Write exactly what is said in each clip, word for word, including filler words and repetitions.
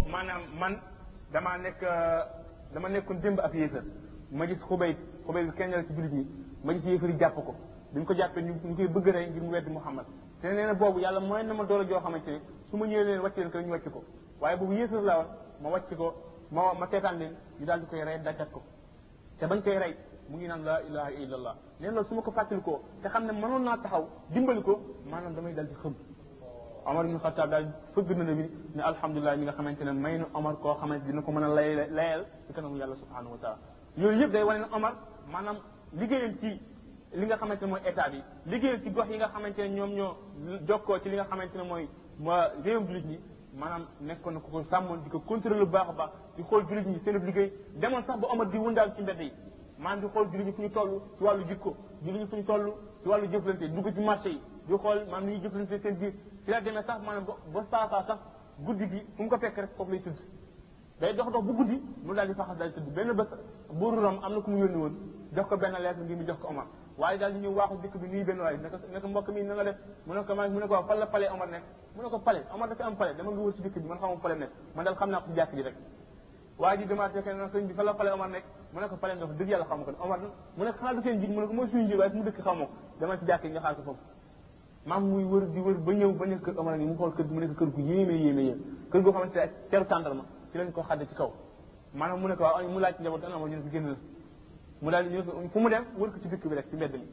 maanaam man damaa nekk dama nekkoon démb ak yéefar ma gis xubay xubay bi kenn la ci jullit ñi ma gis yéefar yi jàpp ko bi ñu ko jàppee ñu ñu koy bëgg rey ngir mu weddi Muhammad te nee na boobu yàlla mooy na ma doole joo xamante ne su ma ñëwee leen wàcc leen ko ñu wàcc ko waaye boobu yéefar laa woon ma wàcc ko ma ma seetaan leen ñu daal di koy rey dajat ko te bañ koy rey mu ngi naan la ilaha illallah leen loolu su ma ko fàttalikoo te xam ne mënoon naa taxaw dimbali ko maanaam damay dal di xëm Omar ibn Khattab daal fëgg na bi ne alhamdulilah mi nga xamante ne may na Omar koo xamante dina ko mën a lay layal ci kanamu yàlla subhanahu wa taala yooyu yëpp day wane ne Omar maanaam liggéeyam ci li nga xamante ne mooy état bi liggéeyam ci gox yi nga xamante ne ñoom ñoo jokkoo ci li nga xamante ne mooy ma réewum jullit ñi maanaam nekkoon na ko ko sàmmoon di ko contrôler bu baax a baax di xool jullit ñi seen liggéey demoon sax ba Omar di wëndaal ci mbedd yi maanaam di xool jullit ñi fu ñu toll ci wàllu jikko jullit ñi fu ñu toll ci wàllu jëflante dugg ci marché yi di xool maanaam ni ñuy jëflante seen biir ci la demee sax maanaam ba saasaa sax guddi gi fu mu ko fekk rek foofu lay tëdd day dox dox bu guddi mu daal di faxas daal di tëdd benn bés buuru Rom am na ku mu yónni woon jox ko benn lettre ngir mu jox ko Omar waaye daal di ñëw waaxu dëkk bi nuyu benn waaye ne ko ne ko mbokk mi na nga def mu ne ko ma mu ne ko waaw fan la palais Omar nekk mu ne ko palais Omar dafa am palais dama nga wër si dëkk bi man xamuma palais nekk man daal xam naa ko ci jàkk ji rek waa ji demaat fekk na sëñ bi fan la palais Omar nekk mu ne ko palais nga fa dëgg yàlla xamu ko Omar mu ne ko xanaa du seen jiit mu ne ko mooy suñu jiit waaye fu mu dëkk xamoo ko dama ci jàkk yi nga xaar ko foofu maam muy wër di wër ba ñëw ba nekk kër Omar ni mu xool kër gi mu nekk kër gu yéeme yéeme yéeme kër goo xamante ne teru tàndarma ci lañ ko xadde ci kaw maanaam mu ne ko waaw mu laaj ci njaboot ana Omar ñu ne ko génn la mu daal di ñu fu mu dem wër ko ci dëkk bi rek ci mbedd mi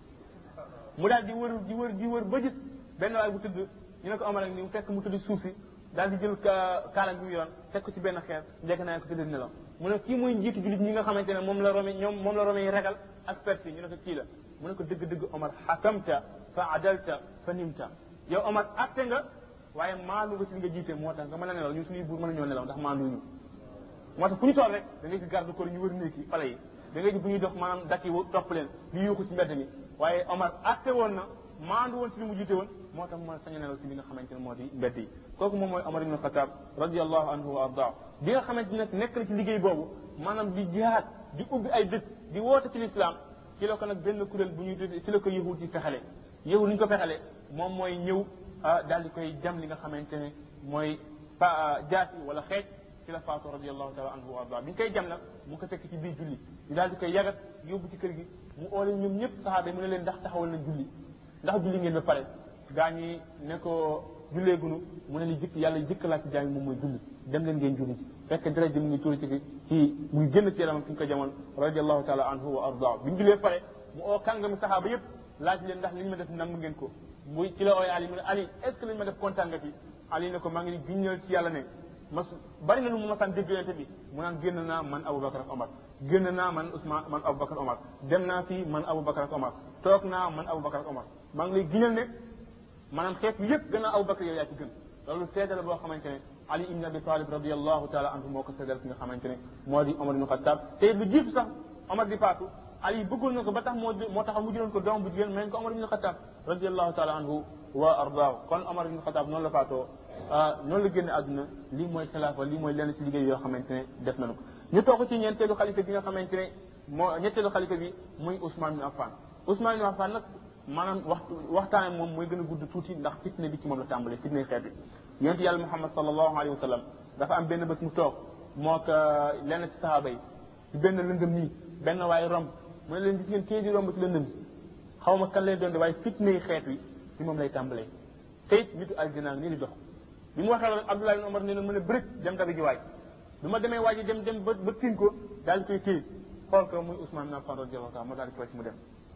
mu daal di wër di wër di wër ba gis benn waay bu tëdd ñu ne ko Omar ak ni mu fekk mu tëdd suuf si daal di jël kaalam bi mu yoroon teg ko ci benn xeer njëkk naa ko tëdd nelaw mu ne kii mooy njiitu jullit ñi nga xamante ne moom la Rome ñoom moom la Rome yi ragal ak Perse ñu ne ko kii la mu ne ko dëgg-dëgg Omar xakamta fa adalta fa nimta yow Omar atte nga waaye maandu nga ci li nga jiite moo tax nga mën a nelaw ñun suñuy buur mën a ñoo nelaw ndax maandu ñu moo tax fu ñu toll rek da ngay gis garde corps ñu wër néeg yi pale yi da ngay gis bu ñuy dox maanaam dakk yi topp leen di yuuxu ci mbedd mi waaye Omar atte woon na maandu woon ci li mu jiite woon moo tax mën a sañ a nelaw ci li nga xamante ne moo di mbedd yi kooku moom mooy Omar ibn Khattab radiallahu anhu wa ardaa bi nga xamante ne nekk na ci liggéey boobu maanaam di jihaad di ubbi ay dëkk di woote ci l'islam ci la ko nag benn kuréel bu ñuy tuddee ci la ko yahud di fexale yahud ni ñu ko fexale moom mooy ñëw daal di koy jam li nga xamante ne mooy pa jaasi wala xeej ci la faatu radiallahu taala anhu wa ardaa bi ñu koy jam nag mu ko fekk ci biir julli ñu daal di koy yagat yóbbu ci kër gi mu oole ñoom ñëpp saxaaba yi mu ne leen ndax taxawal na julli ndax julli ngeen ba pare gaa ñi ne ko julleegunu mu ne li jëkk yàlla jëkk laa ci jaami moom mooy julli dem leen ngeen julli ci fekk dara ji mu ngi tuuri ci ci mu ngi génn ci yaramam fi ñu ko jamoon radiallahu taala anhu wa ardaa bi ñu jullee pare mu oo kàngami saxaaba yëpp laaj leen ndax li ñu ma def nangu ngeen ko muy ci la ooy Ali mu ne Ali est ce que li ñu ma def kontaan nga ci Ali ne ko maa ngi giññal ci yàlla ne mas bari na lu mu masaan dégg yonente bi mu naan génn naa man Aboubacar ak Omar génn naa man Ousmane man Aboubacar Omar dem naa fii man Aboubacar ak Omar toog naa man Aboubacar ak Omar maa ngi lay giñal ne maanaam xeet bi yëpp gën a Aboubacar yow yaa ci gën loolu seedal boo xamante ne Ali ibn Abi Talib radiallahu taala anhu moo ko seedal ki nga xamante ne moo di Omar ibn Khattab te lu jiitu sax Omar di faatu Ali bëggoon na ko ba tax moo moo tax mu jëloon ko doom bu jigéen may ko Omar ibn Khattab radiallahu taala anhu wa ardaahu kon Omar ibn Khattab noonu la faatoo noonu la génne àdduna lii mooy xilaafa lii mooy lenn ci liggéey yoo xamante ne def nañu ko ñu toog ci ñeenteelu xalifa bi nga xamante ne moo ñetteelu xalifa bi muy Ousmane bin Affan Ousmane bin Affan nag maanaam waxtu waxtaane moom mooy gën a gudd tuuti ndax fitne bi ci moom la tàmbalee fitne xeet bi yonent yàlla Muhammad sallallahu alayhi wa sallam dafa am benn bés mu toog moo ko lenn ci sahaaba yi ci benn lëndëm nii benn waaye romb mu ne leen gis ngeen kii di romb ci lëndëm xaw ma kan lay doon de waaye fitne xeet wi ci moom lay tàmbalee te it nitu aljana nii di dox bi mu waxee loolu Abdullah ibn Umar ne leen mën a bërit dem dabi ji waaj bi ma demee waaj dem dem ba ba tin ko daal di koy téye xool ko muy Ousmane bin Affan radiyallahu taala moo daal di koy ci mu dem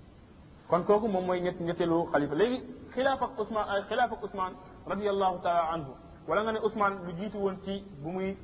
kon kooku moom mooy ñett ñetteelu xalifa léegi xilaaf ak Ousmane xilaaf ak Ousmane radiyallahu taala anhu wala nga ne Ousmane lu jiitu woon ci bu muy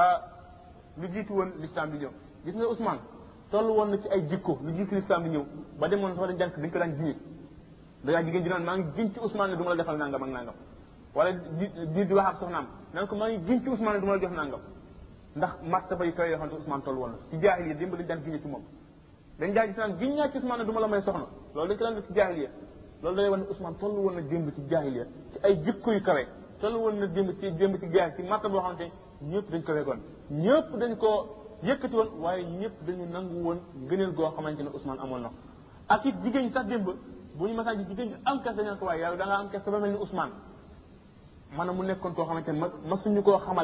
lu jiitu woon l'islam bi ñëw gis nga Ousmane toll woon na ci ay jikko lu jiitu l'islam bi ñëw ba demoon sax dañ jànk dañ ko daan jiñe dangaa jigéen ji naan maa ngi giñ ci Ousmane ne du ma la defal nangam ak nangam wala di di di wax ak soxnaam nan ko maa ngi giñ ci Ousmane ne du ma la jox nangam ndax martaba yu kaw yoo xam ne Ousmane toll woon na ci jaahiliya démb dañ daan giñe ci moom dañ daa gis naan giñ naa ci Ousmane ne du ma la may soxna loolu dañ ko daan def ci jaahiliya loolu day wax ne Ousmane toll woon na démb ci jaahiliya ci ay jikko yu kawe toll woon na démb ci démb ci jaahil ci martaba boo xamante ñëpp dañ ko wegoon ñëpp dañ ko yëkkati woon waaye ñëpp dañu nangu woon gëneel goo xamante ne Ousmane amoon na ak it jigéen ñi sax démb bu ñu masaan ji jigéen ñi am kes dañu ko waaye yow da nga am kes ba mel ni Ousmane maanaam mu nekkoon koo xamante ne ma masuñu koo xamal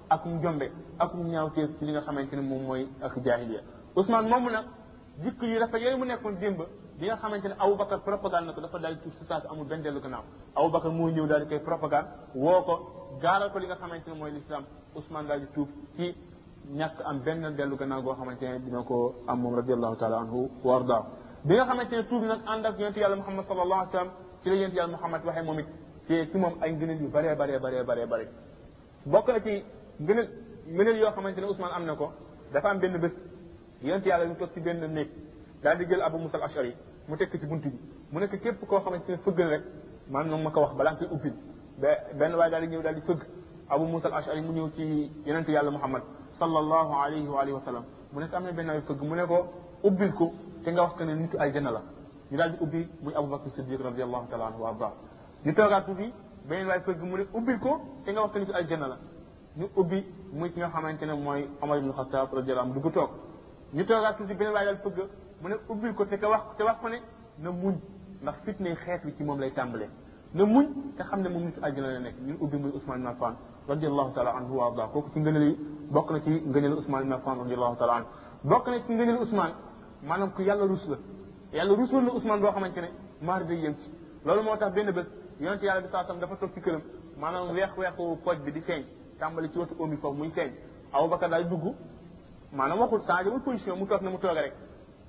ak njombe ak ñaawteef ci li nga xamante ne moom mooy ak jaahiliya Ousmane moomu nag jikko yu rafet yooyu mu nekkoon démb bi nga xamante ne Aboubacar propagande na ko dafa daal di tuub si saa si amul benn dellu gannaaw Aboubacar moo ñëw daal di koy propagande woo ko gaaral ko li nga xamante ne mooy l'islam Ousmane daal di tuub ci ñàkk am benn dellu gannaaw goo xamante ne dina ko am moom radiallahu taala anhu wa ardaa bi nga xamante ne tuub nag ànd ak yonente yàlla Muhammad sallallahu alayhi wa sallam ci la yonente yàlla Muhammad waxee moom it ci ci moom ay ngëneel yu bëree bëree bëree bëree bëri bokk na ci ngëneel ngëneel yoo xamante ne Ousmane am na ko dafa am benn bés yonente yàlla ñu toog ci benn néeg daal di jël Abu Musa al-Ash'ari mu tekk ci buntu bi mu nekk képp koo xamante ne fëggal rek man noonu ma ko wax balaa nga koy ubbil ba benn waaye daal di ñëw daal di fëgg Abu Musa al-Ash'ari mu ñëw ci yonente yàlla Muhammad sallallahu alayhi wa alihi wa sallam mu nekk am na benn waay fëgg mu ne ko ubbil ko te nga wax que ne nitu aljanna la ñu daal di ubbi muy Abu Bakr Siddiq radiyallahu taala anhu wa arda ñu toogaat tuuti beneen waay fëgg mu ne ubbil ko te nga wax que nitu aljanna la ñu ubbi muy ki nga xamante ne mooy Omar ibn Khattab radiyallahu anhu dugg toog ñu toogaat tuuti beneen waay daal fëgg mu ne ubbil ko te ka wax te wax ko ne na muñ ndax fitne xeet bi ci moom lay tàmbalee na muñ te xam ne moom nitu aljanna la nekk ñu ubbi muy Ousmane ibn Affan radiyallahu taala anhu wa arda kooku ci ngëneel yi bokk na ci ngëneel Ousmane ibn Affan radiyallahu taala anhu bokk na ci ngëneel Ousmane maanaam ku yàlla rus la yàlla rusul na Ousmane boo xamante ne maar day yem ci loolu moo tax benn bés yonente yàlla bi saa sam dafa toog ci këram maanaam weex weexu pooj bi di feeñ tàmbali ci wetu oom bi foofu muy feeñ Aboubacar daal dugg maanaam waxul changé wul position mu toog na mu toogee rek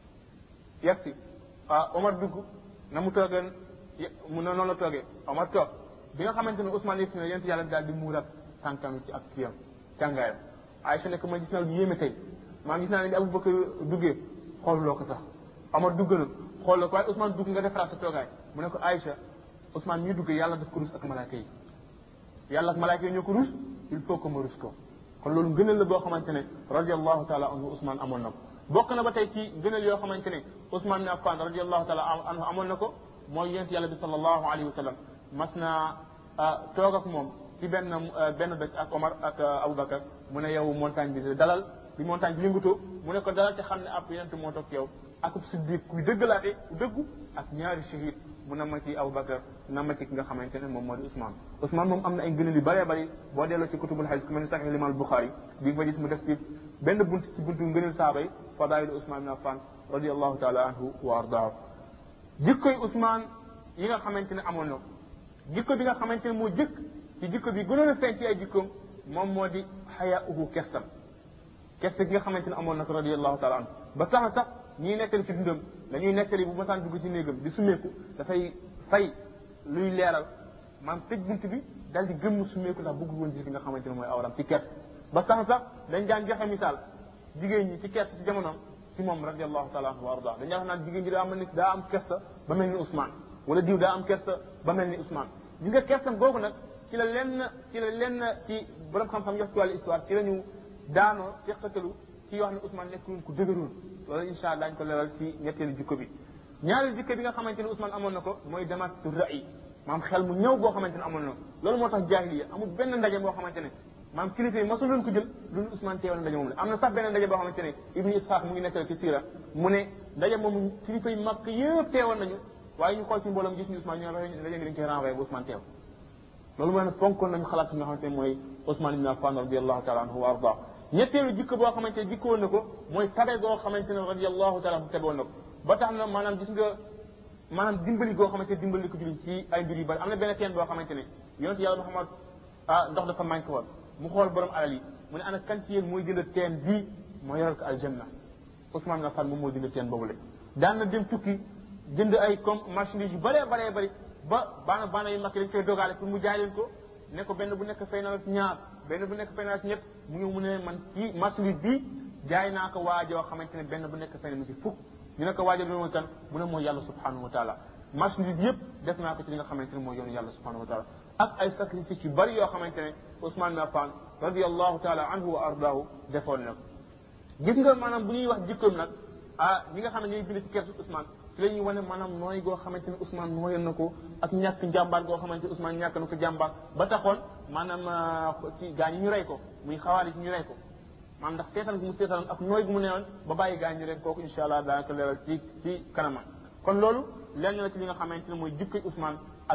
yegg si ah Omar dugg na mu toogee mu noonu la toogee Omar toog bi nga xamante ne Ousmane yegg si ne yonente yàlla bi daal di muurat tànkam ci ak kiyam càngaayam Aïcha ne ko ma gis naa lu yéeme tey maa gis naa ne bi Aboubacar duggee xooluloo ko sax Omar dugg na xool la ko waaye Ousmane dugg nga defaraat sa toogaay mu ne ko Aïcha Ousmane ñuy duggee yàlla daf ko rus ak malaaka yi yàlla ak malaaka yi ñoo ko rus il faut que ma rus ko kon loolu ngëneel la boo xamante ne radiallahu taala anhu Ousmane amoon na ko bokk na ba tey ci ngëneel yoo xamante ne Ousmane ibn Affan radiallahu taala anhu amoon na ko mooy yonent yàlla bi sallallahu alayhi wa sallam mas naa toog ak moom ci benn benn bés ak Omar ak Aboubacar mu ne yow montagne bi dalal bi montagne bi yëngutoo mu ne ko dalal te xam ne ab yonent moo toog yow akub siddiq kuy dëggalaate ku dëggu ak ñaari shahid mu na ma ci Aboubacar na ma ci ki nga xamante ne moom moo di Ousmane Ousmane moom am na ay ngëneel yu bëree bëri boo delloo ci kutubul hadis ku mel ni Sahih Imam Bukhari bi nga fa gis mu def ci benn bunt ci buntu ngëneel saaba yi fadailu Ousmane ibn Affan radiallahu taala anhu wa ardaahu jikkoy Ousmane yi nga xamante ne amoon na ko jikko bi nga xamante ne moo jëkk ci jikko bi gënoon a feeñ ci ay jikkoom moom moo di xayaauhu kersam kersa gi nga xamante ne amoon na ko radiallahu taala anhu ba tax na sax ñiy nettali ci dundam dañuy nettali bu masaan dugg ci néegam di sumeeku dafay fay luy leeral maam tëj bunt bi dal di gëmm sumeeku ndax bëggul woon gis li nga xamante ne mooy awram ci kersa ba tax na sax dañ daan joxe misaal jigéen ñi ci kersa ci jamonoom ci moom radiallahu taala anhu wa arda dañuy wax naan jigéen ñi daa am ni daa am kersa ba mel ni Ousmane wala diw daa am kersa ba mel ni Ousmane ñi nga kersam googu nag ci la lenn ci la lenn ci borom xam-xam yox ci wàllu histoire ci la ñu daanoo teqatalu ci wax ne Ousmane nekkul ku dëgëroon loolu incha allah daañu ko leeral ci ñetteelu jikko bi ñaareelu jikko bi nga xamante ne Ousmane amoon na ko mooy damaatu ra'i maam xel mu ñëw boo xamante ne amoon na ko loolu moo tax jaahiliya amul benn ndaje boo xamante ne maam kilifa yi masul leen ko jël loolu Ousmane teewal ndaje moom la am na sax benn ndaje boo xamante ne Ibnu Ishaq mu ngi nekkal ci siira mu ne ndaje moomu kilifa yi mag yëpp teewal nañu waaye ñu xool ci mbooloom gis ñu Ousmane ñoo ndaje ngi dañ koy renvoyé ba Ousmane teew loolu mooy ne fonkoon nañu xalaat nga xamante ne mooy Ousmane ibn Affan radiallahu taala anhu wa arda ñetteelu jikko boo xamante ne jikkoon na ko mooy tabe goo xamante ne radiallahu taala anhu tabewoon na ko ba tax na maanaam gis nga maanaam dimbali goo xamante ne dimbali ko jullit ci ay mbir yu bari am na benn teen boo xamante ne yonent yàlla Muhammad ah ndox dafa manqué woon mu xool borom alal yi mu ne ana kan ci yéen mooy jënd teen bii moo yoral ko aljanna Ousmane ibn Affan moom moo jënd teen boobu la daan na dem tukki jënd ay comme marchandise yu bëree bëree bëri ba baana baana yu mag yi dañ koy dogaale pour mu jaay leen ko ne ko benn bu nekk fay na la si ñaar benn bu nekk fay na la si ñett mu ñëw mu ne man kii marchandise bii jaay naa ko waajoo xamante ne benn bu nekk fay na ma si fukk ñu ne ko waajoo bi mooy kan mu ne mooy yàlla subhanahu wa taala marchandise bi yëpp def naa ko ci li nga xamante ne mooy yoonu yàlla subhanahu wa taala ak ay sacrifice yu bëri yoo xamante ne Ousmane ibn Affan radiallahu taala anhu wa ardahu defoon na ko gis nga maanaam bu ñuy wax jikkoom nag ah ñi nga xam ne ñooy bind ci kersu Ousmane ci la ñuy wane maanaam nooy goo xamante ne Ousmane nooyoon na ko ak ñàkk njàmbaar goo xamante ne Ousmane ñàkk na ko jàmbaar ba taxoon maanaam ci gaa ñi ñu rey ko muy xawaari ci ñu rey ko maanaam ndax seetaan gu mu seetaan ak nooy gu mu newoon ba bàyyi gaa ñi ñu rey kooku incha allah daanaka leeral ci ci kanamam kon loolu lenn la ci li nga xamante ne mooy jikkoy Ousmane ak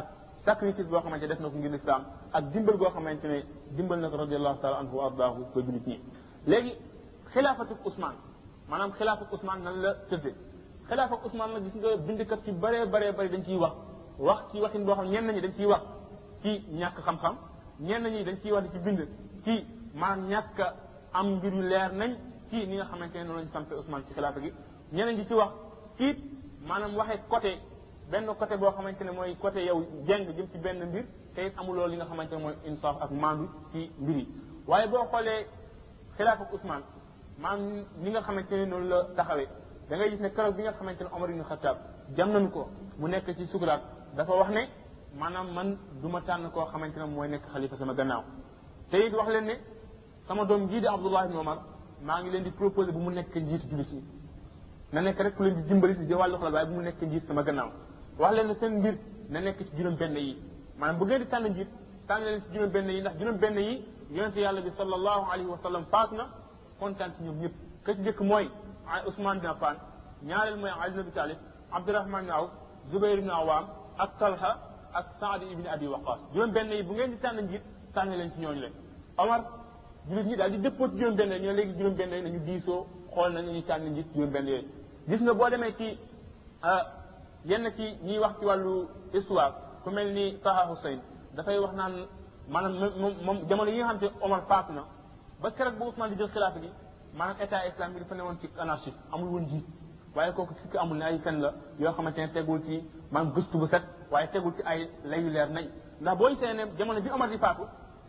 sacrifice boo xamante ne def na ko ngir lislaam ak dimbal goo xamante ne dimbal na ko radiallahu taala anhu wa ardaahu ba julit ñi léegi xilaafatu Ousmane maanaam xilaafatu Ousmane nan la tëddee xilaafatu Ousmane nag gis nga bindkat ci bëree bëree bëri dañ ciy wax wax ci waxin boo xam ñenn ñi dañ ciy wax ci ñàkk xam-xam ñenn ñi dañ ciy wax di ci bind ci maanaam ñàkk am mbir yu leer nañ ci ni nga xamante ne noonu lañ sampé Ousmane ci xilaafa gi ñeneen ñi ci wax ci maanaam waxee côté benn côté boo xamante ne mooy côté yow jeng jëm ci benn mbir te it amuloo li nga xamante ne mooy insaaf ak maandu ci mbir yi waaye boo xoolee xilaafa Ousmane maanaam ni nga xamante ne noonu la taxawee da ngay gis ne keroog bi nga xamante ne Omar ibn Khattab jam nañu ko mu nekk ci sukuraat dafa wax ne maanaam man du ma tànn koo xamante ne mooy nekk xalifa sama gannaaw te it wax leen ne sama doom jii di Abdullah ibn Omar maa ngi leen di proposé bu mu nekk njiitu jullit yi na nekk rek ku leen di dimbali di wàllu xalaat waaye bu mu nekk njiit sama gannaaw wax leen ne seen mbir na nekk ci juróom benn yi maanaam bu ngeen di tànn njiit tànn leen ci juróom benn yi ndax juróom benn yi yonente yàlla bi sallallahu alayhi wa sallam faat na kontaan ci ñoom ñëpp ka ci njëkk mooy Ousmane bin Affan ñaareel mooy Ali ibn Abi Talib Abdurahman ibn Awf Zubayr ibn Awam ak Talha ak Saad ibn Abi Waqas juróom benn yi bu ngeen di tànn njiit tànn leen ci ñooñu leen Omar jullit ñi daal di dëppoo ci juróom benn yi ñoo léegi juróom benn yi nañu diisoo xool nañu ñu tànn njiit juróom benn yooyu gis nga boo demee ci yenn ci ñiy wax ci wàllu histoire ku mel ni Taha Hussein dafay wax naan maanaam moom moom jamono yi nga xam te Omar faatu na ba keroog ba Ousmane di jël xilaafa gi maanaam état islamique dafa ne woon ci anarchie amul woon jiit waaye kooku sikk amul ne ay fen la yoo xamante ne tegul ci maanaam gëstu bu set waaye tegul ci ay layu leer nañ ndax boo gisee ne jamono bi Omar di faatu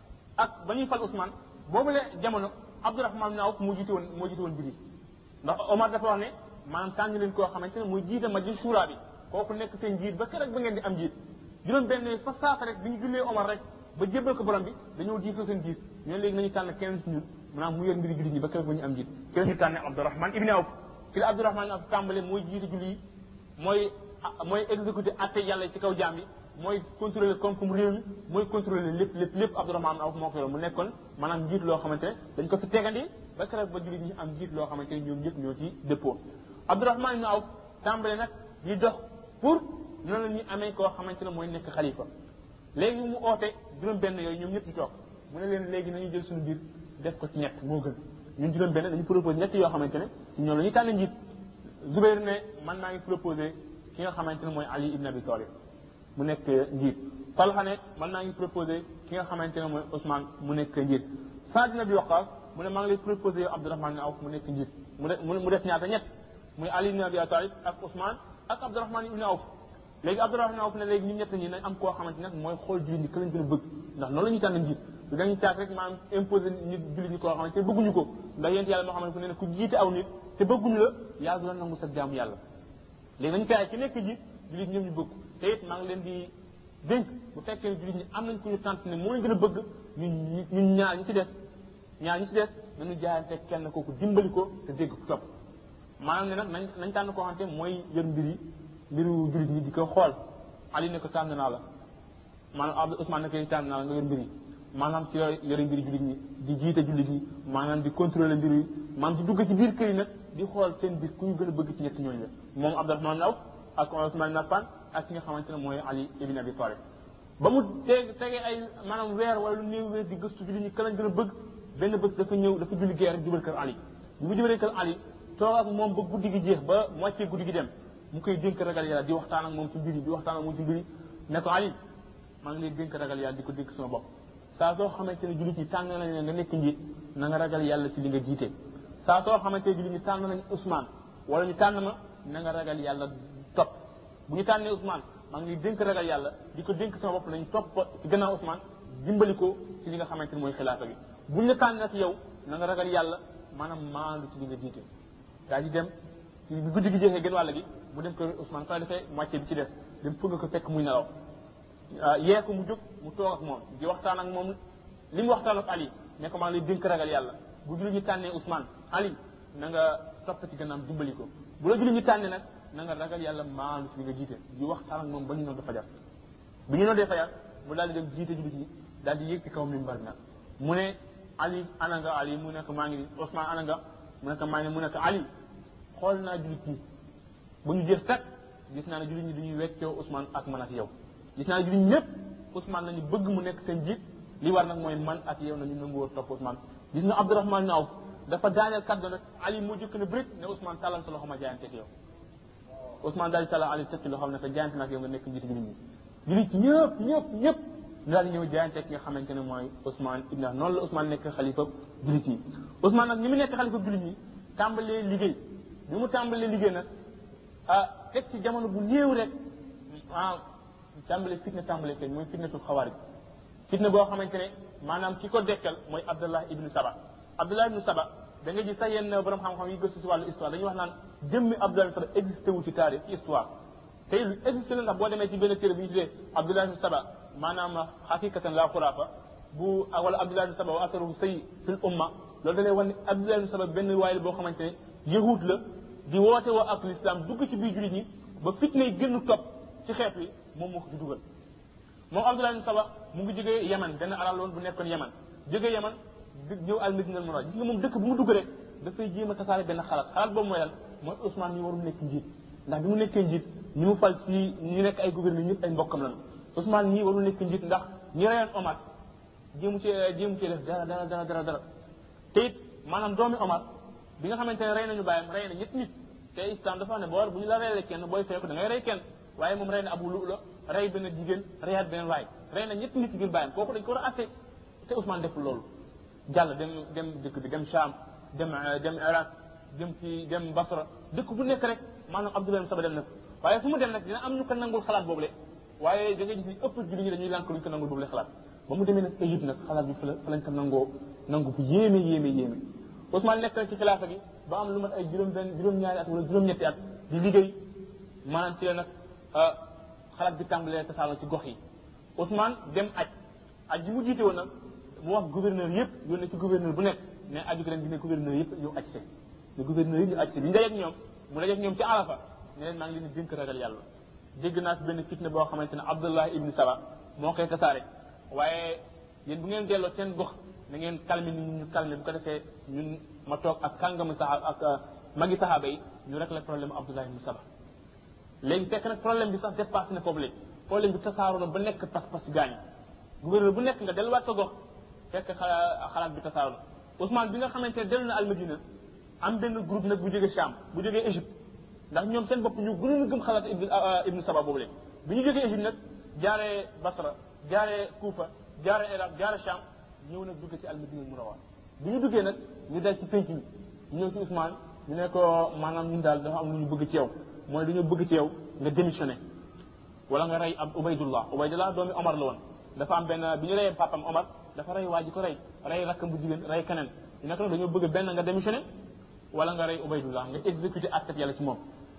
ak ba ñuy fal Ousmane boobu la jamono Abdourahman ibn Awf moo jiite woon moo jiite woon mbir yi ndax Omar dafa wax ne maanaam tànn leen koo xamante ne muy jiite majlis shura bi kooku nekk seen jiit ba keroog ba ngeen di am jiit juróom benn fa saasa rek bi ñu jullee Omar rek ba jébbal ko borom bi dañoo jiitoo seen jiit ñoo léegi nañu tànn keneen ci ñun maanaam mu yor mbiri jullit ñi ba keroog ba ñu am jiit keneen ñu tànne Abdourahman ibn Awf ci la Abdourahman ibn Awf tàmbale mooy jiite julli yi mooy mooy exécuté atte yàlla ci kaw jaam bi mooy contrôler koom-koom réew mi mooy contrôler lépp lépp lépp Abdourahman ibn Awf moo ko yor mu nekkoon maanaam jiit loo xamante ne dañ ko fi tegandi ba keroog ba jullit ñi am jiit loo xamante ne ñoom ñëpp ñoo ci dëppoo Abdourahman ibn Awf tàmbale nag di dox pour noonu la ñuy amee koo xamante ne mooy nekk xalifa léegi mu oote juróom benn yooyu ñoom ñëpp ñu toog mu ne leen léegi nañu jël suñu biir def ko ci ñett moo gën ñun juróom benn dañu proposé ñett yoo xamante ne ñoom la ñuy tànn njiit Zubayr ne man maa ngi proposé ki nga xamante ne mooy Ali ibn Abi Talib mu nekk njiit Talha ne man maa ngi proposé ki nga xamante ne mooy Ousmane mu nekk njiit Saad ibn Abi Waqqas mu ne maa ngi lay proposé yow Abdourahman ibn Awf mu nekk njiit mu de mu def ñaata ñett muy Ali ibn Abi Talib ak Ousmane ak Abdourahman ibn Awf léegi Abdourahman ibn Awf ne léegi ñun ñett ñi nañ am koo xamante ne mooy xool jullit ñi ka lañ gën a bëgg ndax noonu la ñuy tànn njiit du dañuy caag rek maanaam imposé nit jullit ñi koo xamante ne bëgguñu ko ndax yéen yàlla moo xamante ne ku jiite aw nit te bëgguñu la yaa du la nangu sa jaamu yàlla léegi nañu kaay ci nekk jiit jullit ñoom ñu bëgg te it maa ngi leen di dénk bu fekkee ne jullit ñi am nañ ku ñu tànt ne moo leen gën a bëgg ñun ñun ñaar ñi ci des ñaar ñi ci des nañu jaayante kenn kooku dimbali ko te dégg ko topp maanaam ne nag nañ nañ tànn koo xamante mooy yor mbir yi mbiru jullit ñi di ko xool Ali ne ko tànn naa la maanaam Abdou Ousmane ne ko tànn naa la nga yor mbir yi maanaam ci yore yore mbiri jullit ñi di jiite jullit ñi maanaam di contrôler mbir yi maanaam di dugg ci biir kër yi nag di xool seen biir ku ñu gën a bëgg ci ñett ñooñu la moom Abdourahman ibn Awf ak Ousmane ibn Affan ak ki nga xamante ne mooy Ali ibn Abi Talib ba mu teg tegee ay maanaam weer wala lu néew weer di gëstu jullit ñi ka lañ gën a bëgg benn bés dafa ñëw dafa julli gee rek jubal kër Ali bu mu jubalee kër Ali toog ak moom ba guddi gi jeex ba moitié guddi gi dem mu koy dénk ragal yàlla di waxtaan ak moom ci mbir yi di waxtaan ak moom ci mbir yi ne ko Ali maa ngi lay dénk ragal yàlla di ko dénk sama bopp saa soo xamante ne jullit ñi tànn nañ nga nekk njiit na nga ragal yàlla ci li nga jiite saa soo xamante ne jullit ñi tànn nañ Ousmane wala ñu tànn ma na nga ragal yàlla topp bu ñu tànnee Ousmane maa ngi lay dénk ragal yàlla di ko dénk sama bopp nañu topp ci gannaaw Ousmane dimbali ko ci li nga xamante ne mooy xilaafa bi bu ñu la tànn nag yow na nga ragal yàlla maanaam maandu ci li nga jiite daa di dem ci guddi gi jeexee gën wàll gi mu dem kër Ousmane fa defee moitié bi ci des dem fëgg ko fekk muy nelaw yee ko mu jóg mu toog ak moom di waxtaan ak moom li mu waxtaan ak Ali ne ko maa ngi lay dénk ragal yàlla bu jullit ñi tànnee Ousmane Ali na nga topp ci gannaaw dimbali ko bu la jullit ñi tànnee nag na nga ragal yàlla maandu ci li nga jiite di waxtaan ak moom ba ñu nodd fajar bu ñu noddee fajar mu daal di dem jiite jullit ñi daal di yéeg ci kaw minbar nag mu ne Ali ana nga Ali mu nekk maa ngi ni Ousmane ana nga mu nekk maa ngi mu nekk Ali xool naa jullit ñi ba ñu jeex kat gis naa ne jullit ñi duñuy weccoo Ousmane ak man ak yow gis naa jullit ñëpp Ousmane nañu bëgg mu nekk seen jiit li war nag mooy man ak yow nañu nangu woon topp Ousmane gis nga Abdourahmane ibn Awf dafa daaneel kàddu nag Ali moo jëkk na bërit ne Ousmane tàllal sa loxo ma jaayante ak yow Ousmane daal di tàllal Ali tëkki loo xam ne que jaayante nag yow nga nekk njiitu jullit ñi jullit ñëpp ñëpp ñëpp daal di ñëw jaayante ak ki nga xamante ne mooy Ousmane ibn Affan noonu la Ousmane nekk xalifa jullit ñi Ousmane nag ni mu nekk xalifa jullit ñi tàmbalee liggéey bi mu tàmbalee liggéey nag ah teg ci jamono bu néew rek ah tàmbalee fitna tàmbalee feeñ mooy fitnatul xawaarij fitna boo xamante ne maanaam ki ko dekkal mooy Abdallah ibnu Saba Abdallah ibnu Saba da nga gis sax yenn borom xam-xam yi gëstu si wàllu histoire dañuy wax naan jëmmi Abdallah ibnu Saba existé wu ci taarix ci histoire te lu existé la ndax boo demee ci benn téere bu ñu tuddee Abdallah ibnu Saba maanaam xaqiqatan la xuraafa bu wala Abdallah ibnu Saba wa asaruhu sayyi fil umma loolu da lay wan ne Abdallah ibnu Saba benn waay la boo xamante ne yahud la di woote woo ak l'islam dugg ci biir jullit ñi ba fitna yi gën topp ci xeet wi moom moo ko ci dugal moom Abdullah ibn Saba mu ngi jógee Yaman benn arab la woon bu nekkoon Yaman jógee Yaman ñëw al Madina al Munawwara gis nga moom dëkk bu mu dugg rek dafay jéem a tasaare benn xalaat xalaat boobu mooy lan mooy Ousmane ñu warul nekk njiit ndax bi mu nekkee njiit ñi mu fal ci ñu nekk ay gouverneur ñëpp ay mbokkam lañu Ousmane ñii warul nekk njiit ndax ñi reyoon Omar jéemu ci jéemu ci def dara dara dara dara dara te it maanaam doomi Omar bi nga xamante ne rey nañu bàyyam rey na ñetti nit te islam dafa ne boo bu ñu la reylee kenn booy feeku da ngay rey kenn waaye moom rey na Abu Lu'lu rey benn jigéen reyaat beneen waay rey na ñetti nit ngir bàyyam kooku dañ ko war a atte te Ousmane deful loolu jàll dem dem dëkk bi dem Sham dem dem Iraq dem ci dem Basra dëkk bu nekk rek maanaam Abdullah ibn Saba dem na waaye fu mu dem nag dina am ñu ko nangul xalaat boobu le waaye da ngay gis ni ëpp julli ñi dañuy lànk luñ ko nangul boobu le xalaat ba mu demee nag Égypte nag xalaat bi fa la fa lañ ko nangoo nangu bu yéeme yéeme yéeme Ousmane nekk na ci xilaafa gi ba am lu mat ay juróom benn juróom-ñaari at wala juróom-ñetti at di liggéey maanaam ci la nag xalaat bi tàmbalee tasaaroo ci gox yi Ousmane dem aj aj ji mu jiite woon nag mu wax gouverneur yëpp yónnee ci gouverneur bu nekk ne aju ren gi ne gouverneur yëpp ñu aj see ne gouverneur yëpp ñu aj see bi ñu dajeeg ñoom mu dajeeg ñoom ci Arafa ne leen maa ngi leen di dénk ragal yàlla dégg naa fi benn fitne boo xamante ne Abdullah ibn Saba moo koy tasaare waaye yéen bu ngeen delloo seen gox na ngeen calmer nit ñi ñu calmer bu ko defee ñun ma toog ak kàngamu saxaaba ak magi saxaaba yi ñu rek la problème Abdullah ibn Saba léegi fekk nag problème bi sax dépassé na foofu léegi problème bi tasaaroo na ba nekk pas-pas gaañ gouverneur bu nekk nga delluwaat sa gox fekk xalaat bi tasaaroo na Ousmane bi nga xamante ne dellu na Almadina am benn groupe nag bu jógee Cham bu jógee Égypte ndax ñoom seen bopp ñu gënoon a gëm xalaat ibn ibn Saba boobu léegi bi ñu jógee Égypte nag jaaree Basra jaaree Kufa jaaree Iraq jaaree Cham ñëw nag dugg ci Almadina Munawwara bi ñu duggee nag ñu dal ci penc mi ñëw ci Ousmane ñu ne ko maanaam ñun daal dafa am lu ñu bëgg ci yow mooy dañoo bëgg ci yow nga démissionné wala nga rey ab Ubaydullah Ubaydullah doomi Omar la woon dafa am benn bi ñu reyee papam Omar dafa rey waa ji ko rey rey rakkam bu jigéen rey keneen ñu nekk nag dañoo bëgg benn nga démissionné wala nga rey Ubaydullah nga exécuté acte yàlla ci moom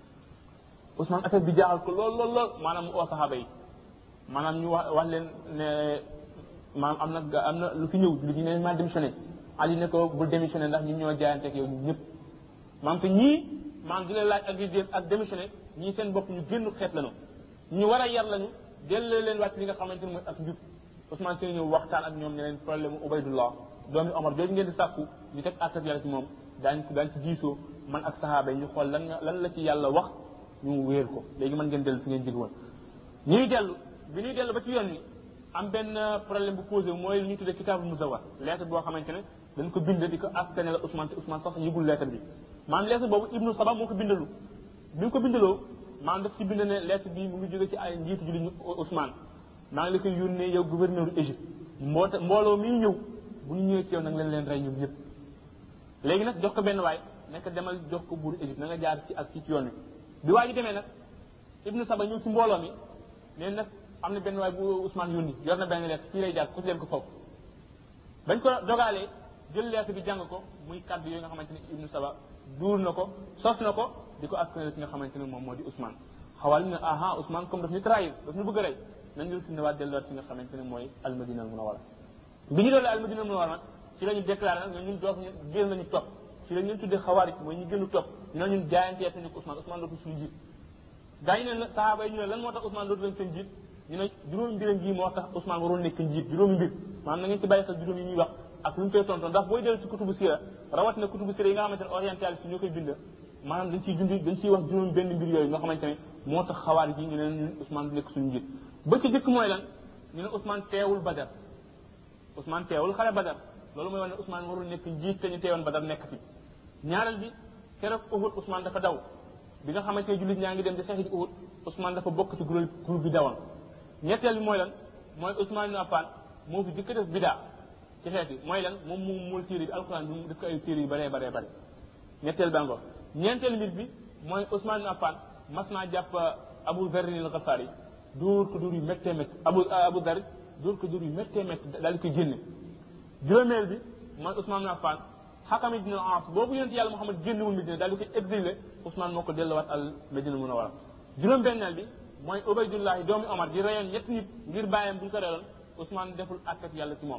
Ousmane affaire bi jaaxal ko lool lool lool maanaam mu oo saxaaba yi maanaam ñu wax wax leen ne maanaam am na am na lu fi ñëw lu ñu ne maa démissionné Ali ne ko bul démissionné ndax ñun ñoo jaayante ak yow ñun ñëpp maanaam te ñii maanaam di leen laaj ak di ak démissionné ñii seen bopp ñu génn xeet lañu ñu war a yar lañu delloo leen wàcc li nga xamante ne mooy ak njub Ousmane seen ñëw waxtaan ak ñoom ne leen problème mu Ubaydullah doomi Omar jooju ngeen di sàkku ñu teg àtte yàlla ci moom daañ daañ ci diisoo man ak saxaaba yi ñu xool lan lan la ci yàlla wax ñu wéer ko léegi mën ngeen dellu fi ngeen jóge woon ñuy dellu bi ñuy dellu ba ci yoon wi am benn problème bu posé mooy li ñuy tuddee kitaabul muzawwar lettre boo xamante ne dañ ko bind di ko askane la Ousmane te Ousmane sax yëgul lettre bi maanaam lettre boobu Ibnu Saba moo ko bindalu bi mu ko bindaloo maanaam daf ci bind ne lettre bi mu ngi jóge ci ay njiitu julli ñu Ousmane maa ngi la koy yónnee yow gouverneur Égypte mboota mbooloo miy ñëw bu ñu ñëwee ci yow nag leen leen rey ñoom ñëpp léegi nag jox ko benn waay nekk demal jox ko buuru Égypte na nga jaar ci ak ci ci yoon wi bi waa ji demee nag Ibnu Saba ñëw ci mbooloo mi nee nag am na benn waay bu Ousmane yónni yor na benn lettre fii lay jaar ku leen ko foofu bañ ko dogaalee jël lettre bi jàng ko muy kaddu yooyu nga xamante ne Ibnu Saba duur na ko sos na ko di ko askanale ki nga xamante ne moom moo di Ousmane xawal ne aha Ousmane comme daf ñu trahir daf ñu bëgg a rey nañu retourné waat delluwaat fi nga xamante ne mooy Almadina al Munawwara bi ñu doole Almadina al Munawwara nag ci la ñu déclaré nag ñun doof ñu génn nañu topp ci la ñu tuddee xawaarij mooy ñu gënu topp ñu ne ñun jaayanteet nañu ko Ousmane Ousmane dootu suñu jiit gaa ñu ne sahaaba yi ñu ne lan moo tax Ousmane dootu leen seen jiit ñu ne juróomi mbiram ji moo tax Ousmane waroon nekk njiit juróomi mbir maanaam na ngeen ci bàyyi xel juróom yi ñuy wax ak lu ñu koy tontoon ndax booy dellu ci kutubu sira rawat na kutubu sira yi nga xamante ne orientaliste ñoo koy bind maanaam dañ ciy dund dañ ciy wax juróom benn mbir yooyu nga xamante ne moo tax xawaar yi ñu ne ñun Ousmane du nekk suñu njiit ba ci jëkk mooy lan ñu ne Ousmane teewul Badar Ousmane teewul xare Badar loolu mooy wane ne Ousmane warul nekk njiit te ñu teewoon Badar nekk fi ñaareel bi keroog Uhud Ousmane dafa daw bi nga xamante ne jullit ñaa ngi dem di xeex ji Uhud Ousmane dafa bokk ci groupe groupe bi dawoon ñetteel bi mooy lan mooy Ousmane ibn Affan moo fi jëkk def bidaa ci xeet yi mooy lan moom mu muul téere bi alxuraan bi mu def ko ay téere yu bëree bëree bëri ñetteel ba ngo ñeenteel mbir bi mooy Ousmane ibn Affan mas naa jàpp Abu Dharr al-Ghifari dóor ko dóor yu méttee métti Abu Abu Dharr dóor ko dóor yu méttee métti daal di koy génne juróomeel bi mooy Ousmane ibn Affan Hakam ibn al-As boobu yonent yàlla Muhammad génnewul Medina daal di koy exilé Ousmane moo ko delluwaat al Medina Munawwara juróom benneel bi mooy Ubaydullahi doomi Omar di reyoon ñetti nit ngir bàyyam bu ñu ko reyoon Ousmane deful àtteeg yàlla ci moom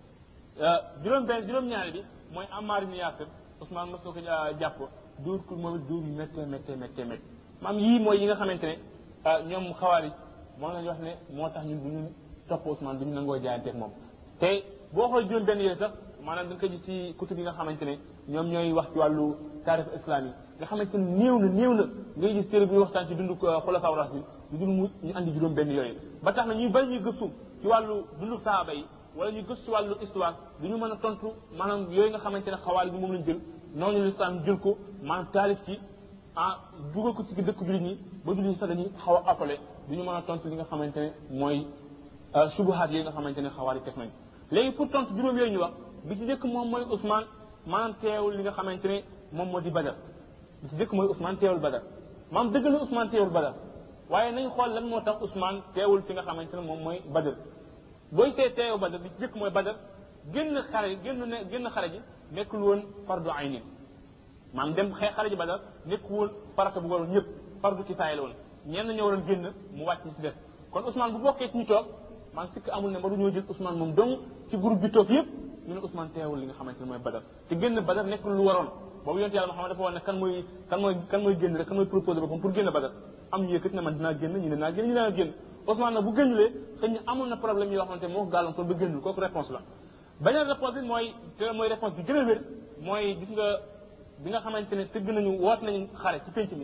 juróom benn juróom ñaari bi mooy Ammar ibn Yasir Ousmane mos na ko jàpp dóor ko moom it dóor yu méttee méttee méttee méttee maam yii mooy yi nga xamante ne ñoom xawaari moom lañu wax ne moo tax ñun bu ñu topp Ousmane du ñu nangoo jaayanteeg moom te boo xool juróom benn yooyu sax maanaam da nga ko gis ci kutub yi nga xamante ne ñoom ñooy wax ci wàllu taarix islam yi nga xamante ne néew na néew na ngay gis téere bi waxtaan ci dundu xulafaa rashidin ñu dul mu ñu andi juróom benn yooyu ba tax na ñuy bari ñuy gëstu ci wàllu dundu saaba yi wala ñuy gëstu ci wàllu histoire du ñu mën a tontu maanaam yooyu nga xamante ne xawaali bi moom lañ jël noonu l'islam jël ko maanaam taalif ci ah dugal ko ci dëkk jullit ñi ba jullit ñi sax dañuy xaw a appelé du ñu mën a tontu li nga xamante ne mooy subuhaat yooyu nga xamante ne xawaali teg nañ léegi pour tontu juróom yooyu ñu wax bi ci njëkk moom mooy Ousmane maanaam teewul li nga xamante ne moom moo di Badar bi ci njëkk mooy Ousmane teewul Badar maanaam dëgg la Ousmane teewul Badar waaye nañ xool lan moo tax Ousmane teewul fi nga xamante ne moom mooy Badar booy see teewu Badar bi ci njëkk mooy Badar génn xare génn ne génn xare ji nekkul woon fardu ayni maanaam dem xee xare ji Badar nekkul woon farata bu waroon ñëpp fardu kifaaya la woon ñenn ñoo waroon génn mu wàcc ci des kon Ousmane bu bokkee ci ñu toog man sikk amul ne ba du ñoo jël Ousmane moom dong ci groupe bi toog yëpp ñu ne Ousmane teewul li nga xamante ne mooy Badar te génn Badar nekkul lu waroon boobu yonent yàlla Muhammad dafa wax ne kan mooy kan mooy kan mooy génn rek kan mooy proposé boppam pour génn Badar am ñu yëkkati ne man dinaa génn ñu ne naa génn ñu naa génn Ousmane nag bu génnulee xëy na amoon na problème yoo xamante ne moo ko gàllankoor ba génnul kooku réponse la beneen réponse bi mooy te mooy réponse bi gën a wér mooy gis nga bi nga xamante ne tëgg nañu woot nañu xare ci penc mi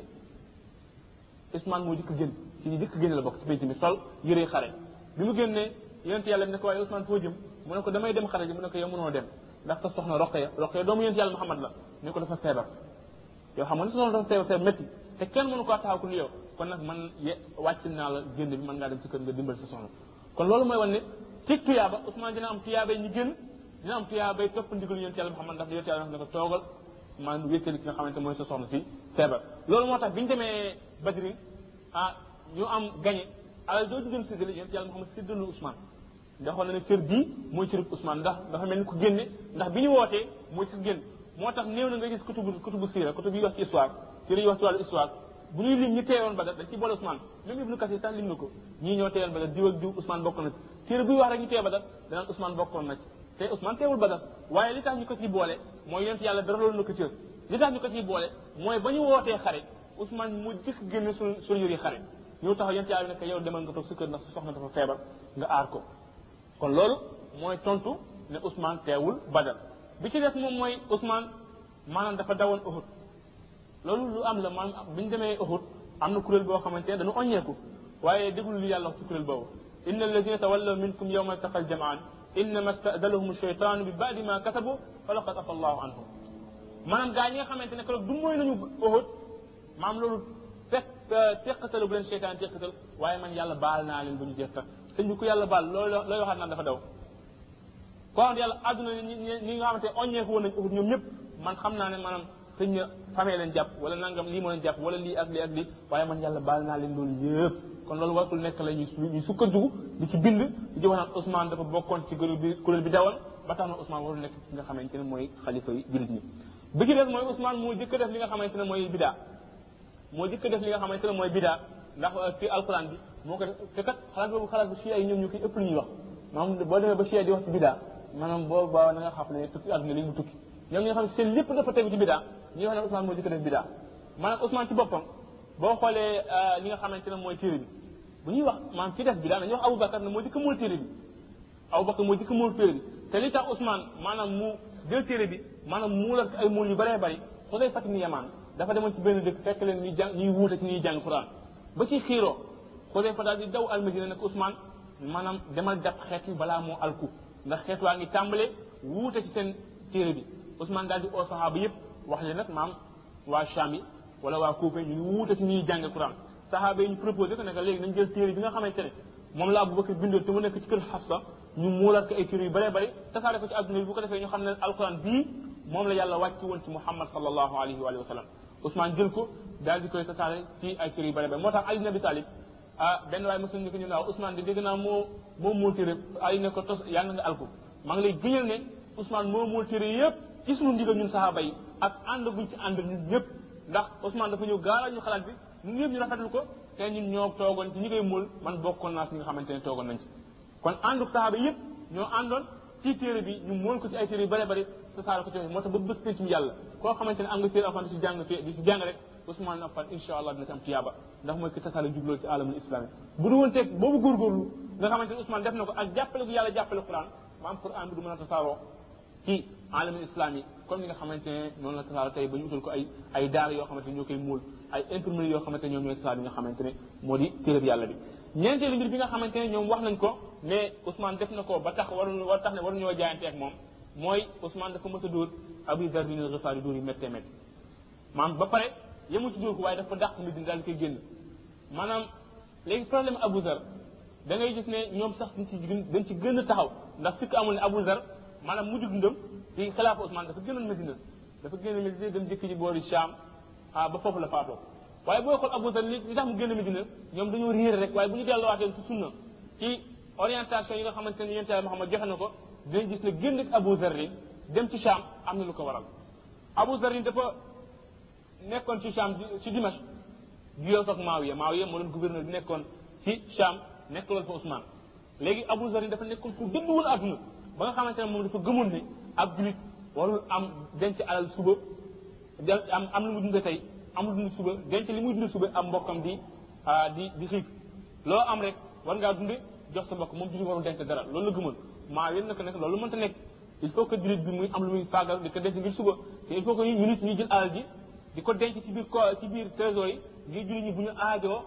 Ousmane moo jëkk génn ci ñu jëkk génn la bokk ci penc mi sol yëree xare bi mu génnee yonent yàlla bi ne ko waaye Ousmane foo jëm mu ne ko damay dem xare ji mu ne ko yow mënoo dem ndax sa soxna Roqaya Roqaya doomu yonent yàlla Muhammad la ne ko dafa feebar yow xam nga ne sa soxna dafa feebar feebar métti te kenn mënu ko taxaw ku ni yow kon nag man ye wàcc naa la génn bi mën ngaa dem ci kër nga dimbal sa soxna kon loolu mooy wan ne ci tuyaaba Ousmane dina am tuyaabay ñu génn dina am tuyaabay topp ndigal yonent yàlla Muhammad ndax yonent yàlla ne ko toogal maa wéttali ki nga xamante mooy sa soxna si feebar loolu moo tax bi ñu demee Badri ah ñu am gagné alal doo ci doon séddale yonent yàlla Muhammad séddalu Ousmane ndax xool na ne cër bii mooy cërub Ousmane ndax dafa mel ni ku génne ndax bi ñu wootee mooy ci génn moo tax néew na nga gis kutubu kutubu siira kutubu yi wax ci histoire téere yi wax ci wàllu histoire bu ñuy lim ñi teewoon Badar dañ ci boole Ousmane même Ibnu Kasir sax lim na ko ñii ñoo teewoon Badar diw ak diw Ousmane bokkoon na ci téere buy wax rek ñu teew Badar danaan Ousmane bokkoon na ci te Ousmane teewul Badar waaye li tax ñu ko ciy boole mooy yonent yàlla dara loolu na ko cër li tax ñu ko ciy boole mooy ba ñu wootee xare Ousmane mu jëkk génne sul sul yëri xare ñëw taxaw yonent yàlla bi ne yow demal nga toog sa kër ndax sa soxna dafa feebar nga aar ko kon loolu mooy tontu ne Ousmane teewul Badar bi ci des moom mooy Ousmane maanaam dafa dawoon Uhud loolu lu am la maanaam bi ñu demee Uhud am na kuréel boo xamante ne dañu oññeeku waaye déglu li yàlla wax ci kuréel boobu inna alladina tawallaw minkum yawma altaqal jamaan innama stadalahum sheytaanu bi baadi ma kasabu fa laqad afa allahu anhum maanaam gaa ñi nga xamante ne keroog du mooy nañu Uhud maam loolu fekk teqatalu bu leen seytaan teqatal waaye man yàlla baal naa leen ba ñu jeex tak sëñ bi ku yàlla baal loolu looy waxaat naan dafa daw koo xam ne yàlla àdduna ñi nga xamante oññeeku woon nañ Uhud ñoom ñëpp man xam naa ne maanaam sëñ na famee leen jàpp wala nangam lii moo leen jàpp wala lii ak lii ak lii waaye man yàlla baal naa leen loolu yëpp kon loolu wartul nekk la ñuy ñuy sukkandiku di ci bind di ci wax naan Ousmane dafa bokkoon ci kuréel bi kuréel bi dawal ba tax na Ousmane warul nekk ci nga xamante ne mooy xalifa yi jullit ñi bi ci des mooy Ousmane moo jëkk def li nga xamante ne mooy bidaa moo jëkk def li nga xamante ne mooy bidaa ndax ci alquran bi moo ko def te kat xalaat boobu xalaat bu chia yi ñoom ñu koy ëpp lu ñuy wax maanaam boo demee ba chia di wax ci bidaa maanaam boo baaw na nga xam ne tukki àdduna li mu tukki ñoom ñi nga xam ne seen lépp dafa tegu ci bidaa ñi wax ne Ousmane moo jëkk def bidaa maanaam Ousmane ci boppam boo xoolee li nga xamante ne mooy téere bi bu ñuy wax maanaam ci def bidaa dañuy wax Aboubacar ne moo jëkk mool téere bi Aboubacar moo jëkk mool téere bi te li tax Ousmane maanaam mu jël téere bi maanaam muulal ay mool yu bëree bëri soo day fàttali ni yamaan dafa demoon ci benn dëkk fekk leen ñuy jàng ñuy wuute ci ñuy jàng Quran ba ci xiiroo Xudayfa daal di daw almadina nag Ousmane maanaam demal jàpp xeet yi balaa moo alku ndax xeet waa ngi tàmbale wuute ci seen téere bi Ousmane daal di oo saxaaba yëpp wax leen nag maam waa Cham yi wala waa Kuufa ñu ngi wuute ci ñuy jàng Quran saxaaba yi ñu proposé ko ne que léegi nañ jël téere bi nga xamante ne moom la Abubakar bindoon te mu nekk ci kër Xafsa ñu muulaat ko ay téere yu bëree bëri tasaare ko ci adduna bi bu ko defee ñu xam ne alquran bii moom la yàlla wàcc woon ci Muhammad sallallahu alayhi wa sallam Ousmane jël ko daal di koy tasaare ci ay téere yu bëri bëri moo tax Ali ibn Abi Talib ah benn waaye mosul ñu ko ñu naaw Ousmane di dégg naa moo moo muul téere Ali ne ko tos yàlla nga alku maa ngi lay gëñal ne Ousmane moo muul téere yëpp ci suñu ndigal ñun saxaaba yi ak ànd buñ ci ànd ñun ñëpp ndax Ousmane dafa ñëw gaaral ñu xalaat bi ñun ñëpp ñu rafetlu ko te ñun ñoo toogoon ci ñi koy muul man bokkoon naa si ñi nga xamante ne toogoon nañ ci kon àndu saxaaba yëpp ñoo àndoon ci téere bi ñu muul ko ci ay téere yu bëri bëri tasaare ko ci moo tax ba bés penc mi yàlla koo xamante ne am nga téere alxuraan di si jàng di si jàng rek Ousmane Affan insha allah dina ci am tiyaaba ndax mooy ki tasaare jubloo ci alamul islami bu du woon teg boobu góorgóorlu nga xamante ne Ousmane def na ko ak jàppale bu yàlla jàppale Quran maam Quran bi du mën a tasaaroo ci alamul islami comme ni nga xamante ne noonu la tasaaroo tey ba ñu utal ko ay ay daara yoo xamante ne ñoo koy muul ay imprimerie yoo xamante ne ñoom ñooy tasaare bi nga xamante ne moo di téere bi yàlla bi ñeenteelu mbir bi nga xamante ne ñoom wax nañ ko ne Ousmane def na ko ba tax waru war tax ne waru ñoo jaayante ak moom mooy Ousmane dafa mës a dóor Abu Zarr bin al-Ghifari dóor yi méttee métti maanaam ba pare yemul ci dóor ko waaye dafa dàq Medina daal di koy génn maanaam léegi problème Abu Zarr da ngay gis ne ñoom sax dañ ci dañ ci gën a taxaw ndax fekk amul ne Abu Zarr maanaam mujj dundam ci xilaafa Ousmane dafa gënoon Medina dafa génn Medina dem jëkk ji boori Cham ah ba foofu la faatoo waaye booy xool Abu Zarr li tax mu génn Medina ñoom dañoo réer rek waaye bu ñu delluwaatee ci sunna ci orientation yi nga xamante ne yonent Yàlla Muhammad joxe na ko dinañ gis ne génn ak Abu Zarr dem ci Cham am na lu ko waral Abu Zarr dafa nekkoon ci Cham ci Dimash juyoo ak Maawiya Maawiya moo doon gouverneur bi nekkoon ci Cham nekkaloon fa Ousmane léegi Abu Zarr dafa nekkoon ku dëdduwul àdduna ba nga xamante ne moom dafa gëmoon ne ab julit warul am denc alal suba am am lu mu dund tey am lu dund suba denc li muy dund suba am mbokkam di di di xiif loo am rek war ngaa dunde jox sa mbokk moom julit warul denc dara loolu la gëmoon maa yéen naka nekk loolu mënta nekk il faut que julit bi muy am lu muy faagal di ko denc ngir suba te il faut que ñu nit ñuy jël alal ji di ko denc ci biir ko ci biir trésor yi ngir julit ñi bu ñu aajoo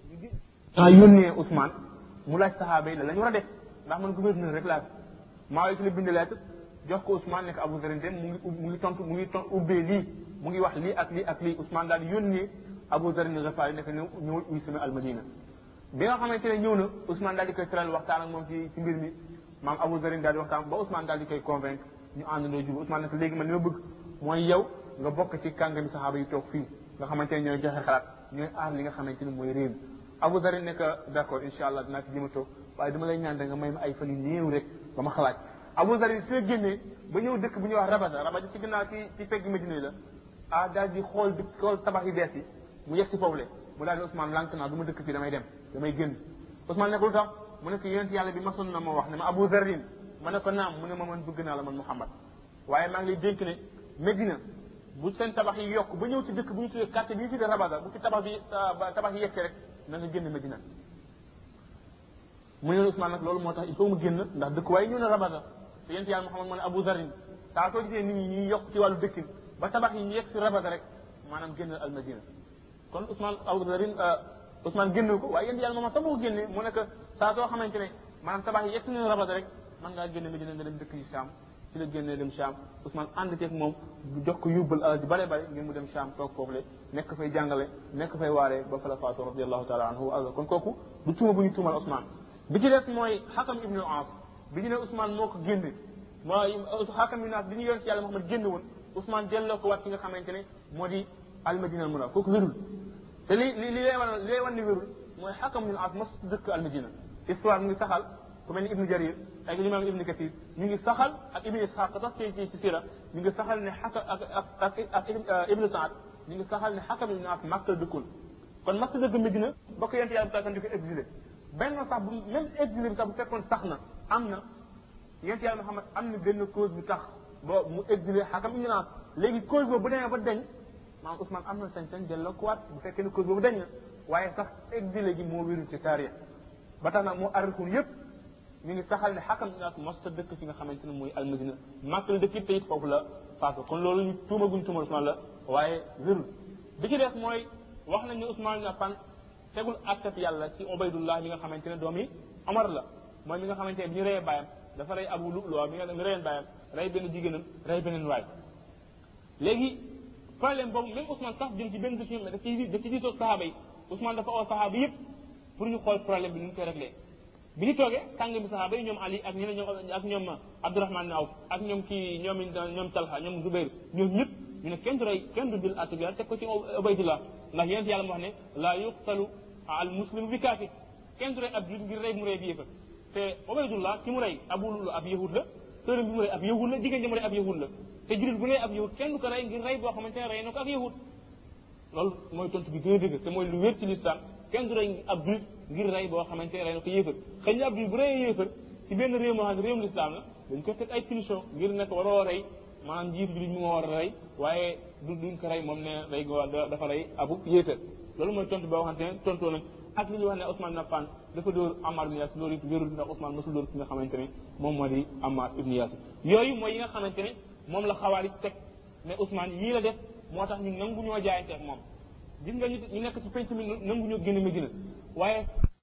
ah yónnee Ousmane mu laaj saxaaba yi la la ñu war a def ndax man gouverneur rek laa maa yi ci la bind lettre jox ko Ousmane nekk Abu Zarr mu ngi mu ngi tontu mu ngi tontu ubbee lii mu ngi wax lii ak lii ak lii Ousmane daal di yónnee Abu Zarr al-Ghifari nekk ñëw ñëwul uy sama almadina bi nga xamante ne ñëw na Ousmane daal di koy tëral waxtaan ak moom ci ci mbir mi maam Abu Zarr daal di waxtaan ba Ousmane daal di koy convaincre ñu àndandoo jub Ousmane nekk léegi man li ma bëgg mooy yow nga bokk ci kàngami saxaaba yi toog fii nga xamante ne ñooy joxe xalaat ñooy aar li nga xamante ne mooy réew mi Abu Zarr nekk d'accord incha allah dinaa ci jëm a toog waaye dama lay ñaan da nga may ma ay fan yu néew rek ba ma xalaat Abu Zarr su génnee ba ñëw dëkk bu ñuy wax Rabada Rabada ci ginnaaw ci ci pegg Medina la ah daal di xool dëkk xool tabax yu bees yi mu yegg si foofu le mu daal di Ousmane lànk naa du ma dëkk fii damay dem damay génn Ousmane ne ko lu tax mu ne ko yonent yàlla bi masoon na ma wax ne ma Abu Zarr ma ne ko naam mu ne ma man bëgg naa la man Muhammad waaye maa ngi lay dénk ne Medina bu seen tabax yi yokk ba ñëw ci dëkk bu ñu tuddee quartier bi ñu tuddee Rabada bu fi tabax bi tabax yi yegg rek na nga génn Medina mu ne Ousmane nag loolu moo tax il faut mu génn ndax dëkk waaye ñëw na Rabada te yonent yàlla Muhammad moo ne Abu Zarr saa soo gisee nit ñi ñuy yokk ci wàllu dëkkin ba tabax yi ñu yegg si Rabada rek maanaam génn al Madina kon Ousmane Abu Zarr Ousmane génn ko waaye yonent yàlla Muhammad sax moo génnee mu nekk saa soo xamante ne maanaam tabax yi yegg si nañu Rabada rek man ngaa génn Medina nga dem dëkk yi Cham ci la génnee dem Cham Ousmane ànd ceeg moom jox ko yóbbal alal ji bare bare ngir mu dem Cham toog foofu le nekk fay jàngale nekk fay waaree ba fa la faatu radiallahu taala anhu wa kon kooku du tuuma bu ñu tuumal Ousmane bi ci des mooy Hakam ibnu al-As bi ñu ne Ousmane moo ko génne mooy Hakam ibnu al-As bi ñu yoon ci yàlla Muhammad génne woon Ousmane delloo ko waat ki nga xamante ne moo di al-Madina al-Munawwara kooku wérul te li li li lay wan li lay wan ni wérul mooy Hakam ibnu al-As mos dëkk al-Madina histoire mu ngi saxal ku mel ni Ibnu Jarir ak imam Ibnu Kathir ñu ngi saxal ak Ibnu Ishaq sax ci ci ci sira ñu ngi saxal ne Hakam ak ak ak Ibnu Saad ñu ngi saxal ne Hakam ibnu al-As Makka la dëkkoon kon Makka dëkk Medina ba ko yonent yàlla bi di ko exilé benn sax bu même exilé bi sax bu fekkoon sax na am na yonent yàlla Muhammad am na benn cause bu tax ba mu exilé Hakam ibnu al-As léegi cause boobu bu demee ba deñ maanaam Ousmane am na sañ-sañ delloo ko waat bu fekkee ne cause boobu deñ na waaye sax exilé gi moo wérul ci taarix ba tax na moo arrikun yépp mi ngi saxal ne Hakam ibnu al-As mos ta dëkk fi nga xamante ne mooy al-Madina Makka la dëkk it te it foofu la faatu kon loolu ñu tuuma guñ tuuma Ousmane la waaye wérul bi ci des mooy wax nañ ne Ousmane ibnu Affan tegul attab yàlla ci Ubaydullah mi nga xamante ne doomi Omar la mooy mi nga xamante ne bi ñu reyee bàyyam dafa rey Abu Lu'lu'a mi nga mi reyeen bàyyam rey benn jigéenam rey beneen waay léegi problème boobu même Ousmane sax jëm ci benn décision mais daf ci daf ci diisoo sahaaba yi Ousmane dafa oo sahaaba yëpp pour ñu xool problème bi nu ñu koy réglé bi ñu toogee tàng bi sahaaba yi ñoom Ali ak ñeneen ñoom ak ñoom Abdourahmane Awf ak ñoom kii ñoom ñoom Talha ñoom Zubayr ñoom ñëpp ñu ne kenn du rey kenn du jël attab yàlla teg ko ci Ubaydullah ndax yonent yàlla mu wax ne la yuqtalu al muslimu bi kaafir kenn du rey ab julit ngir rey mu rey bi yëfa te Ubaydullah ki mu rey Abu Lu'lu'a ab yahud la sërëm bi mu rey ab yahud la jigéen ji mu rey ab yahud la te julit bu rey ab yahud kenn du ko rey ngir rey boo xamante ne rey na ko ak yahud loolu mooy tontu bi gën a dëgg te mooy lu wér ci l'islam kenn du rey ab julit ngir rey boo xamante ne rey na ko yéefar xëy na ab julit bu reyee yéefar ci benn réew moo xam ne réewum l'islam la dañ ko teg ay punition ngir nekk waroo rey maanaam njiitu julit mu moo war a rey waaye du duñ ko rey moom ne rey go dafa rey abu yéefar loolu mooy tontu boo xamante ne tontoo nañ ak li ñuy wax ne Ousmane ibn Affan dafa dóor Ammar ibn Yasir loolu it wérul ndax Ousmane mosul dóor ki nga xamante ne moom moo di Ammar ibn Yasir yooyu mooy yi nga xamante ne moom la xawaari teg mais Ousmane yii la def moo tax ñu nangu ñoo jaayante ak moom gis nga ñu ñu nekk ci penc mi nangu ñoo génn Medina waaye